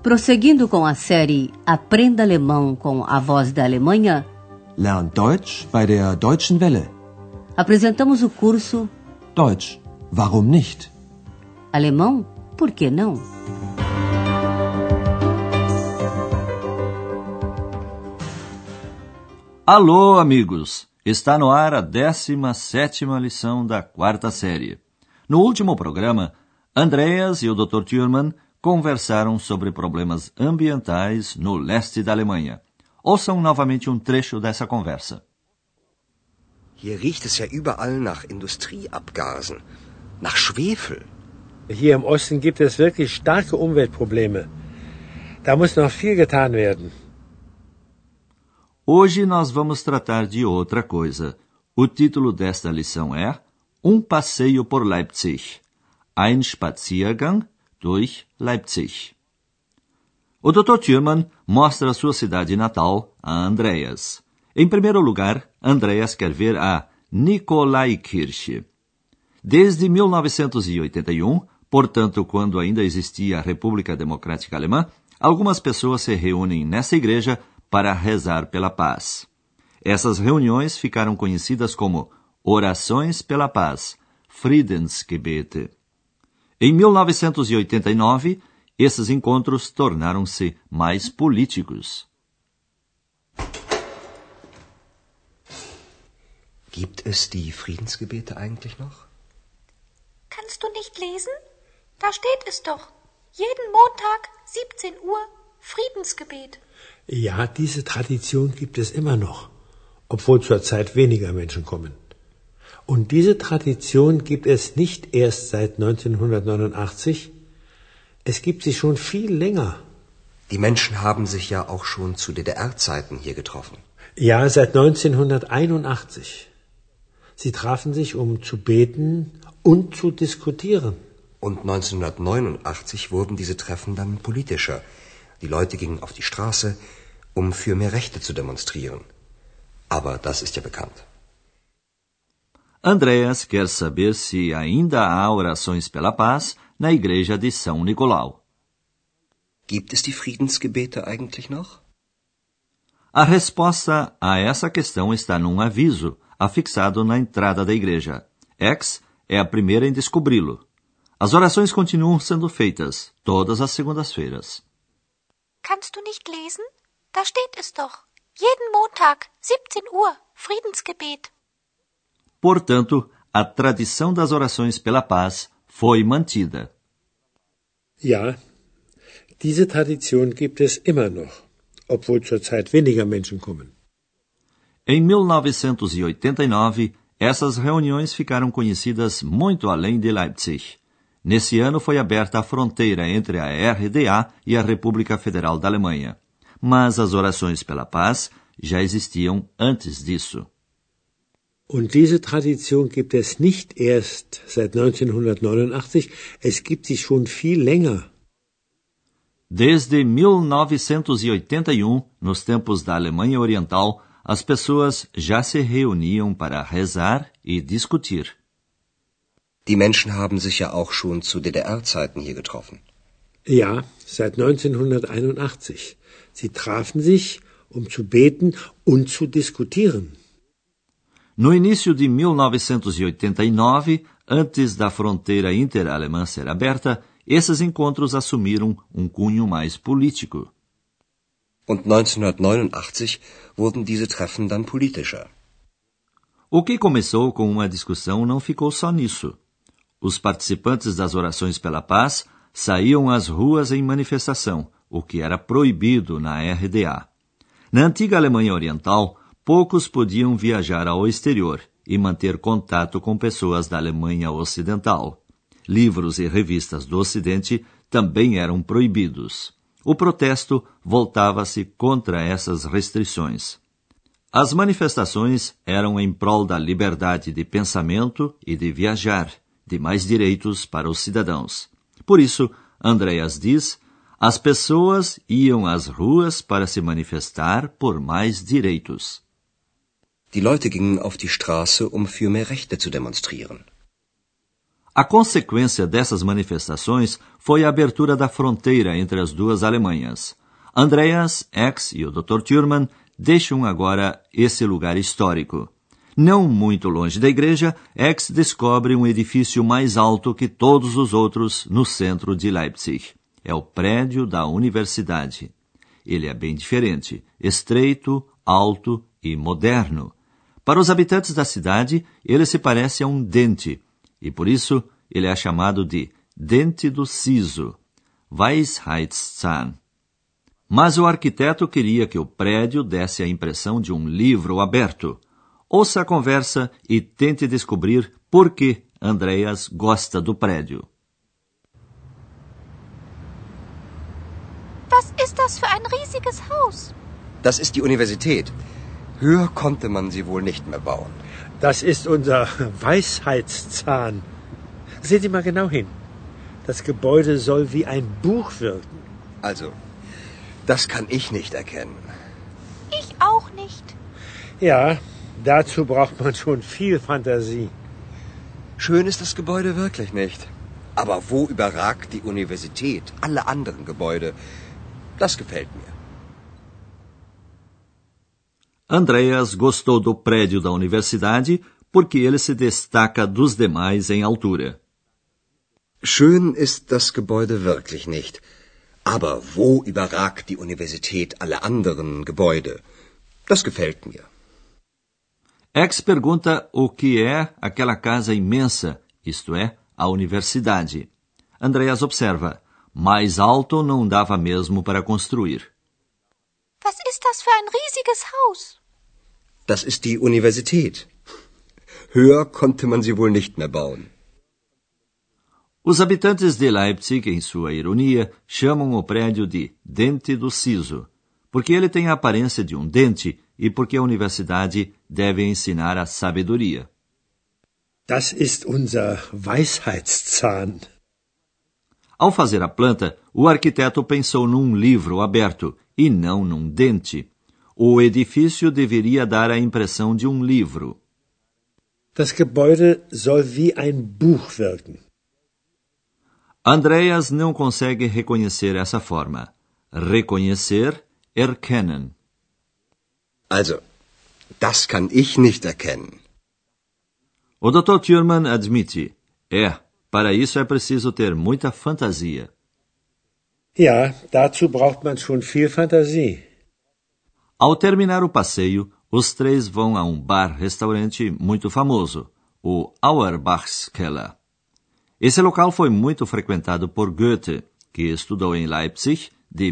Prosseguindo com a série Aprenda Alemão com a Voz da Alemanha, Lern Deutsch bei der Deutschen Welle. Apresentamos o curso Deutsch, warum nicht? Alemão, por que não? Alô, amigos! Está no ar a 17ª lição da 4ª série. No último programa, Andreas e o Dr. Thürmann conversaram sobre problemas ambientais no leste da Alemanha. Ouçam novamente um trecho dessa conversa. Hier riecht es ja überall nach Industrieabgasen, nach Schwefel. Hier im Osten gibt es wirklich starke Umweltprobleme. Da muss noch viel getan werden. Hoje nós vamos tratar de outra coisa. O título desta lição é Um passeio por Leipzig. Ein Spaziergang durch Leipzig. O Dr. Thürmann mostra sua cidade natal a Andreas. Em primeiro lugar, Andreas quer ver a Nikolaikirche. Desde 1981, portanto, quando ainda existia a República Democrática Alemã, algumas pessoas se reúnem nessa igreja para rezar pela paz. Essas reuniões ficaram conhecidas como Orações pela Paz, Friedensgebete. Em 1989, esses encontros tornaram-se mais políticos. Gibt es die Friedensgebete eigentlich noch? Kannst du nicht lesen? Da steht es doch. Jeden Montag, 17 Uhr, Friedensgebet. Ja, diese Tradition gibt es immer noch, obwohl zurzeit weniger Menschen kommen. Und diese Tradition gibt es nicht erst seit 1989, es gibt sie schon viel länger. Die Menschen haben sich ja auch schon zu DDR-Zeiten hier getroffen. Ja, seit 1981. Sie trafen sich, um zu beten und zu diskutieren. Und 1989 wurden diese Treffen dann politischer. Die Leute gingen auf die Straße, um für mehr Rechte zu demonstrieren. Aber das ist ja bekannt. Andreas quer saber se ainda há orações pela paz na igreja de São Nicolau. Gibt es die Friedensgebete eigentlich noch? A resposta a essa questão está num aviso afixado na entrada da igreja. X é a primeira em descobri-lo. As orações continuam sendo feitas todas as segundas-feiras. Kannst du nicht lesen? Da steht es doch. Jeden Montag, 17 Uhr, Friedensgebet. Portanto, a tradição das orações pela paz foi mantida. Ja, diese Tradition gibt es immer noch, obwohl zurzeit weniger Menschen kommen. Em 1989, essas reuniões ficaram conhecidas muito além de Leipzig. Nesse ano foi aberta a fronteira entre a RDA e a República Federal da Alemanha. Mas as orações pela paz já existiam antes disso. Und diese Tradition gibt es nicht erst seit 1989, es gibt sie schon viel länger. Desde 1981, nos tempos da Alemanha Oriental, as pessoas já se reuniam para rezar e discutir. Die Menschen haben sich ja auch schon zu DDR-Zeiten hier getroffen. Ja, seit 1981. Sie trafen sich, um zu beten und zu diskutieren. No início de 1989, antes da fronteira interalemã ser aberta, esses encontros assumiram um cunho mais político. Und 1989 wurden diese Treffen dann politischer. O que começou com uma discussão não ficou só nisso. Os participantes das orações pela paz saíam às ruas em manifestação, o que era proibido na RDA. Na antiga Alemanha Oriental, poucos podiam viajar ao exterior e manter contato com pessoas da Alemanha Ocidental. Livros e revistas do Ocidente também eram proibidos. O protesto voltava-se contra essas restrições. As manifestações eram em prol da liberdade de pensamento e de viajar, de mais direitos para os cidadãos. Por isso, Andreas diz, as pessoas iam às ruas para se manifestar por mais direitos. Die Leute gingen auf die Straße, um für mehr Rechte zu demonstrieren. A consequência dessas manifestações foi a abertura da fronteira entre as duas Alemanhas. Andreas, X e o Dr. Thürmann deixam agora esse lugar histórico. Não muito longe da igreja, X descobre um edifício mais alto que todos os outros no centro de Leipzig. É o prédio da universidade. Ele é bem diferente, estreito, alto e moderno. Para os habitantes da cidade, ele se parece a um dente, e por isso ele é chamado de Dente do Siso, Weisheitszahn. Mas o arquiteto queria que o prédio desse a impressão de um livro aberto. Ouça a conversa e tente descobrir por que Andreas gosta do prédio. Was ist das für ein riesiges Haus? Das ist die Universität. Höher konnte man sie wohl nicht mehr bauen. Das ist unser Weisheitszahn. Sehen Sie mal genau hin. Das Gebäude soll wie ein Buch wirken. Also, das kann ich nicht erkennen. Ich auch nicht. Ja, dazu braucht man schon viel Fantasie. Schön ist das Gebäude wirklich nicht. Aber wo überragt die Universität alle anderen Gebäude? Das gefällt mir. Andreas gostou do prédio da universidade porque ele se destaca dos demais em altura. Schön ist das Gebäude wirklich nicht. Aber wo überragt die Universität alle anderen Gebäude? Das gefällt mir. X pergunta o que é aquela casa imensa, isto é, a universidade. Andreas observa, mais alto não dava mesmo para construir. Was ist das für ein riesiges Haus? Das ist die Universität. Höher konnte man sie wohl nicht mehr bauen. Os habitantes de Leipzig, em sua ironia, chamam o prédio de Dente do Siso, porque ele tem a aparência de um dente e porque a universidade deve ensinar a sabedoria. Das ist unser Weisheitszahn. Ao fazer a planta, o arquiteto pensou num livro aberto e não num dente. O edifício deveria dar a impressão de um livro. Das Gebäude soll wie ein Buch wirken. Andreas não consegue reconhecer essa forma. Reconhecer, erkennen. Also, das kann ich nicht erkennen. O Dr. Thürmann admite, para isso é preciso ter muita fantasia. Ja, dazu braucht man schon viel Fantasie. Ao terminar o passeio, os três vão a um bar-restaurante muito famoso, o Auerbachskeller. Esse local foi muito frequentado por Goethe, que estudou em Leipzig de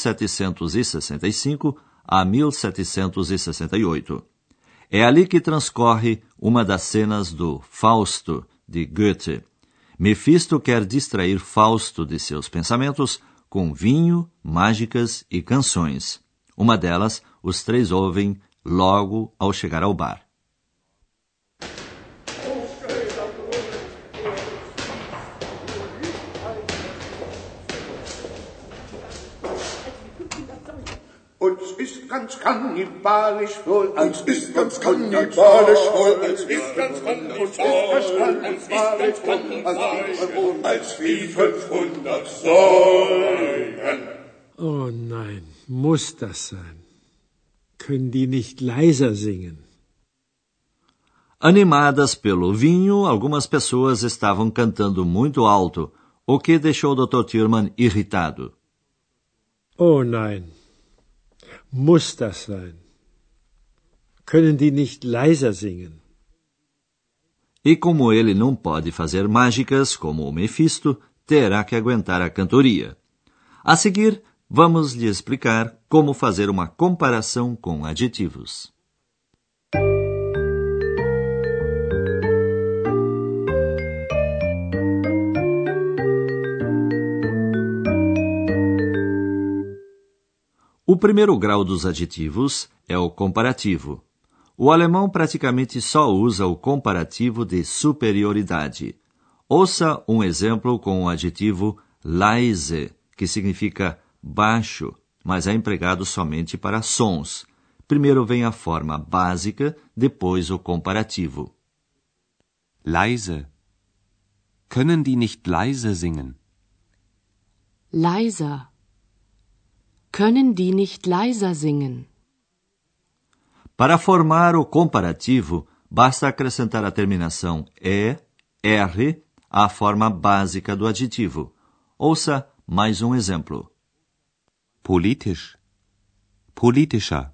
1765 a 1768. É ali que transcorre uma das cenas do Fausto, de Goethe. Mefisto quer distrair Fausto de seus pensamentos com vinho, mágicas e canções. Uma delas, os três ouvem logo ao chegar ao bar. Uns ist ganz kannibalisch wohl, uns ist ganz kannibalisch wohl, uns ist ganz kannibalisch wohl, als wie 500 Säulen. Oh nein, muss das sein? Können die nicht leiser singen? Animadas pelo vinho, algumas pessoas estavam cantando muito alto, o que deixou o Dr. Thürmann irritado. Oh nein, muss das sein? Können die nicht leiser singen? E como ele não pode fazer mágicas como o Mefisto, terá que aguentar a cantoria. A seguir, vamos lhe explicar como fazer uma comparação com adjetivos. O primeiro grau dos adjetivos é o comparativo. O alemão praticamente só usa o comparativo de superioridade. Ouça um exemplo com o adjetivo leise, que significa baixo, mas é empregado somente para sons. Primeiro vem a forma básica, depois o comparativo. Leise. Können die nicht leise singen? Leiser. Können die nicht leiser singen? Para formar o comparativo, basta acrescentar a terminação E, R, à forma básica do adjetivo. Ouça mais um exemplo. Politisch. Politischer.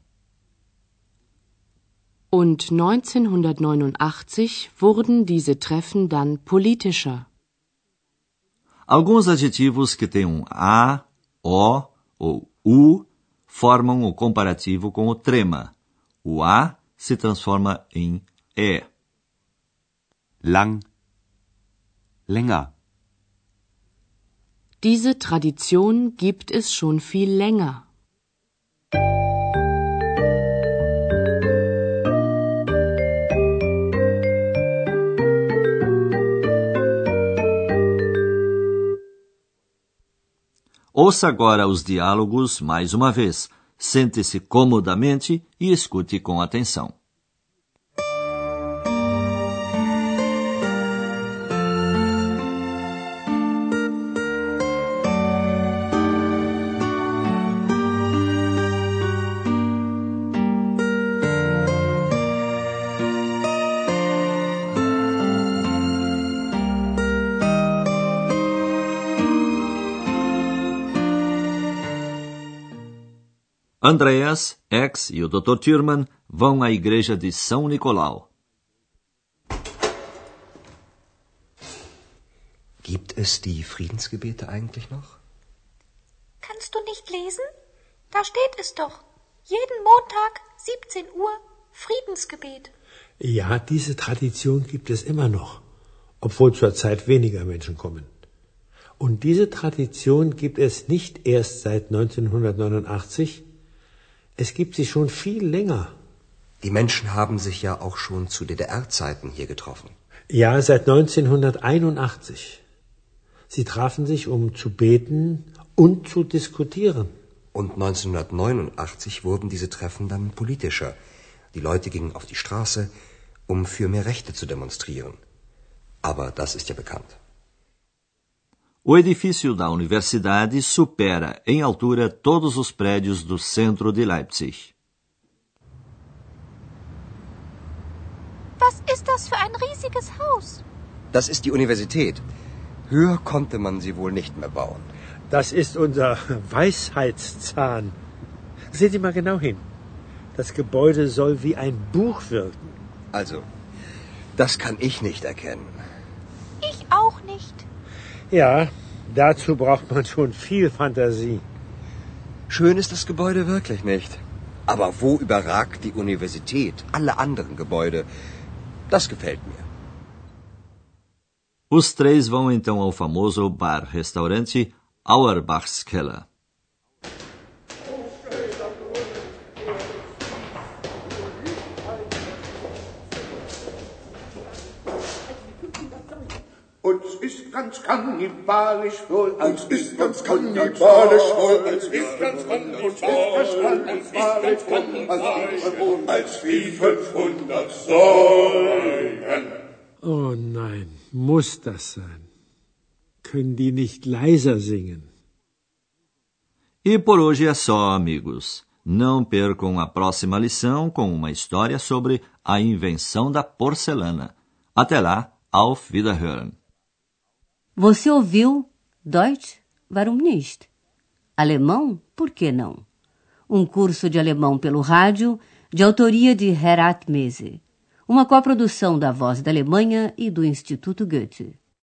Und 1989 wurden diese Treffen dann politischer. Alguns adjetivos que têm A, O ou U formam o comparativo com o trema. O A se transforma em E. Lang. Länger. Diese Tradition gibt es schon viel länger. Ouça agora os diálogos mais uma vez. Sente-se comodamente e escute com atenção. Andreas, X e o Dr. Thürmann vão à igreja de São Nicolau. Gibt es die Friedensgebete eigentlich noch? Kannst du nicht lesen? Da steht es doch. Jeden Montag, 17 Uhr, Friedensgebet. Ja, diese Tradition gibt es immer noch, obwohl zurzeit weniger Menschen kommen. Und diese Tradition gibt es nicht erst seit 1989, es gibt sie schon viel länger. Die Menschen haben sich ja auch schon zu DDR-Zeiten hier getroffen. Ja, seit 1981. Sie trafen sich, um zu beten und zu diskutieren. Und 1989 wurden diese Treffen dann politischer. Die Leute gingen auf die Straße, um für mehr Rechte zu demonstrieren. Aber das ist ja bekannt. O edifício da universidade supera em altura todos os prédios do centro de Leipzig. Was ist das für ein riesiges Haus? Das ist die Universität. Höher konnte man sie wohl nicht mehr bauen. Das ist unser Weisheitszahn. Sehen Sie mal genau hin. Das Gebäude soll wie ein Buch wirken. Also, das kann ich nicht erkennen. Ich auch nicht. Ja, dazu braucht man schon viel Fantasie. Schön ist das Gebäude wirklich nicht. Aber wo überragt die Universität alle anderen Gebäude? Das gefällt mir. Os três vão então ao famoso bar-restaurante Auerbach's Keller. Uns ist ganz kannibalisch wohl, uns ist ganz kannibalisch wohl, uns ist ganz kannibalisch wohl, als wie 500 Säulen. Oh nein, muss das sein? Können die nicht leiser singen? E por hoje é só, amigos. Não percam a próxima lição com uma história sobre a invenção da porcelana. Até lá, auf Wiederhören. Você ouviu Deutsch, warum nicht? Alemão, por que não? Um curso de alemão pelo rádio, de autoria de Herat Mese. Uma coprodução da Voz da Alemanha e do Instituto Goethe.